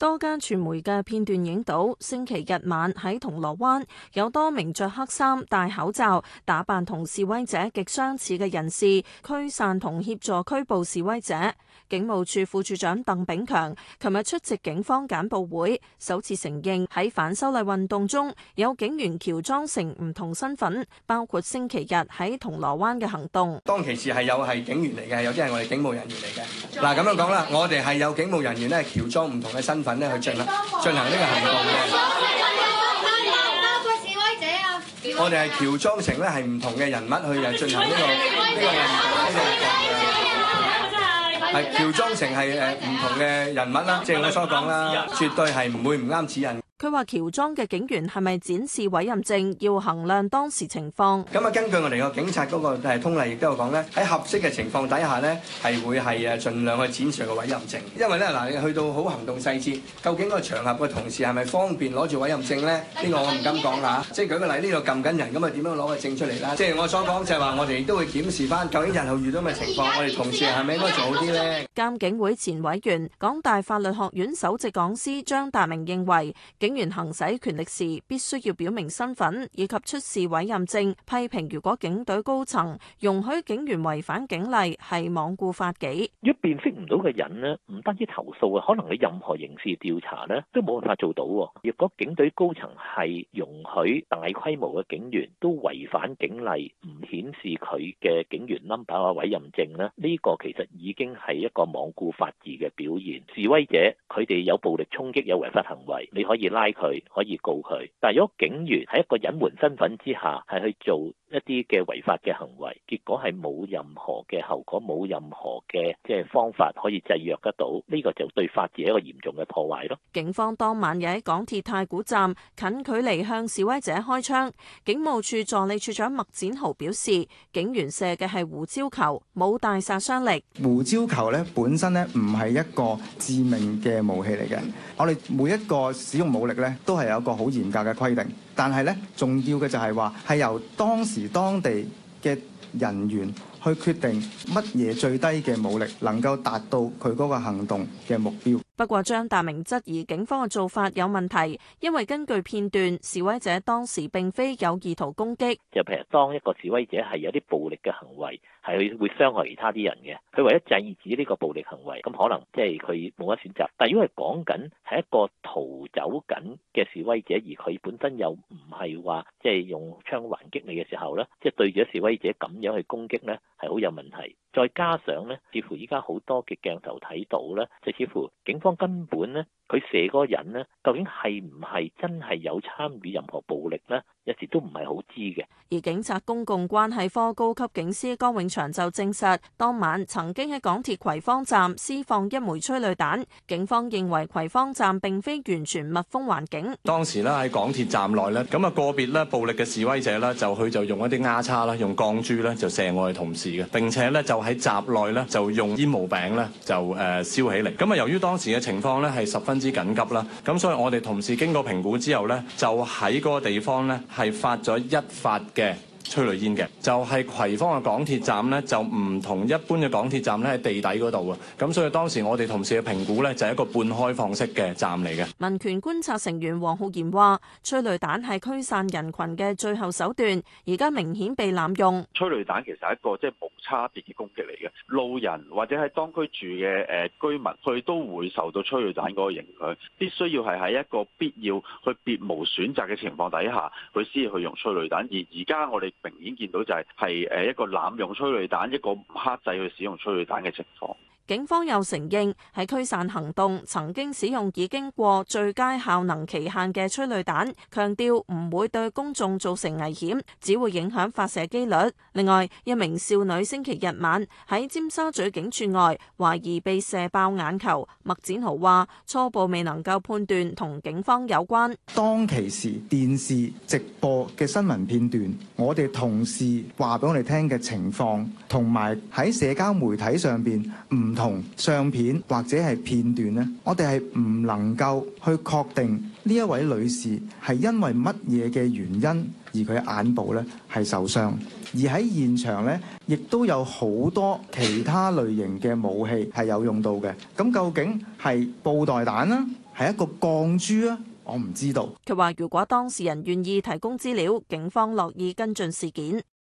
多間傳媒嘅片段影到，星期日晚喺銅鑼灣有多名着黑衫、戴口罩、打扮同示威者極相似嘅人士驅散同協助拘捕示威者。警務處副處長鄧炳強琴日出席警方簡報會，首次承認喺反修例運動中有警員喬裝成唔同身份，包括星期日喺銅鑼灣嘅行動。 當其時係警員嚟嘅，有啲係我哋警務人員嚟嘅。嗱，咁樣講啦，我哋係有警務人員咧喬裝唔同嘅身份咧去進行呢個行動嘅。我哋係喬裝成咧係唔同嘅人物去進行呢個係喬裝成係唔同嘅人物啦。正如我所講啦，絕對係唔會唔啱指引。 佢話喬裝嘅警員係咪展示委任證，要衡量當時情況。 咁啊，根據我哋個警察嗰個通例亦都有講咧，喺合適嘅情況底下咧，係會係盡量去展示個委任證。因為咧嗱，你去到好行動細節，究竟個場合嘅同事係咪方便攞住委任證咧？呢個我唔敢講啦。即係舉個例，呢度撳緊人，咁啊點樣攞個證出嚟啦？即係我所講就係話，我哋亦都會檢視翻，究竟日後遇到咩情況，我哋同事係咪應該做好啲咧？ 監警會前委員、港大法律學院首席講師張達明認為，警員行使權力時必須要表明身份以及出示委任證，批評如果警隊高層容許警員違反警例係罔顧法紀。 如果辨識唔到嘅人呢，唔單止投訴啊，可能你任何刑事調查呢都冇辦法做到。如果警隊高層係容許大規模嘅警員都違反警例，唔顯示佢嘅警員 number 或委任證呢，呢個其實已經係一個罔顧法治嘅表現。示威者佢哋有暴力衝擊、有違法行為，你可以拉佢，可以告佢。但係如果警員喺一個隱瞞身份之下，係去做一啲嘅違法嘅行為，結果係冇任何嘅後果，冇任何嘅方法可以制約得到，呢個就對法治一個嚴重嘅破壞咯。 警方當晚又喺港鐵太古站近距離向示威者開槍。警務處助理處長麥展豪表示，警員射嘅係胡椒球，冇大殺傷力。 胡椒球咧本身咧唔係一個致命嘅武器嚟嘅。我哋每一個使用武力咧都係有一個好嚴格嘅規定，但係咧重要嘅就係話係由當時當地嘅人員去決定乜嘢最低嘅武力能夠達到佢嗰個行動嘅目標。 不過張達明質疑警方嘅做法有問題，因為根據片段，示威者當時並非有意圖攻擊。 就譬如當一個示威者係有啲暴力嘅行為，係會傷害其他啲人嘅，佢為咗制止呢個暴力行為，咁可能佢冇乜選擇。但係如果係講緊係一個逃走緊嘅示威者，而佢本身又唔係話用槍還擊你嘅時候咧，對住示威者咁樣去攻擊咧，係好有問題。再加上咧，似乎依家好多嘅鏡頭睇到咧，就似乎警方根本咧，佢射嗰個人咧，究竟係唔係真係有參與任何暴力咧？有時都唔係好知嘅。 而警察公共關係科高級警司江永祥就證實，當晚曾經喺港鐵葵芳站施放一枚催淚彈。警方認為葵芳站並非完全密封環境。 當時咧喺港鐵站內咧，咁啊個別咧暴力嘅示威者咧，就用一啲丫叉啦，用鋼珠咧就射我哋同事嘅，並且咧就喺閘內咧就用煙霧餅咧就燒起嚟。咁啊由於當時嘅情況咧係十分之緊急啦，咁所以我哋同事經過評估之後咧，就喺嗰個地方咧係發咗一發嘅催淚煙嘅，就係葵芳嘅港鐵站呢，就唔同一般嘅港鐵站咧喺地底嗰度啊，咁所以當時我哋同事嘅評估呢，就係一個半開放式嘅站嚟嘅。 民權觀察成員黃浩然話：催淚彈係驅散人群嘅最後手段，而家明顯被濫用。 催淚彈其實係一個無差別嘅攻擊嚟嘅，路人或者喺當區住嘅居民，佢都會受到催淚彈嗰個影響，必須要係喺一個必要去別無選擇嘅情況底下，佢先至去用催淚彈。而家我哋明顯見到就係一個濫用催淚彈，一個唔克制去使用催淚彈嘅情況。 警方又承認喺驅散行動曾經使用已經過最佳效能期限嘅催淚彈，強調唔會對公眾造成危險，只會影響發射機率。另外，一名少女星期日晚喺尖沙咀警署外懷疑被射爆眼球，麥展豪話初步未能夠判斷同警方有關。 當其時電視直播嘅新聞片段，我哋同事話俾我哋聽嘅情況，同埋喺社交媒體上邊唔同相片或者係片段呢，我哋係唔能夠去確定呢一位女士係因為乜嘢嘅原因而佢眼部呢係受傷，而喺現場呢，亦都有好多其他類型嘅武器係有用到嘅。咁究竟係布袋彈啦， 係一個鋼珠啊？我唔知道。 佢話如果當事人願意提供資料，警方樂意跟進事件。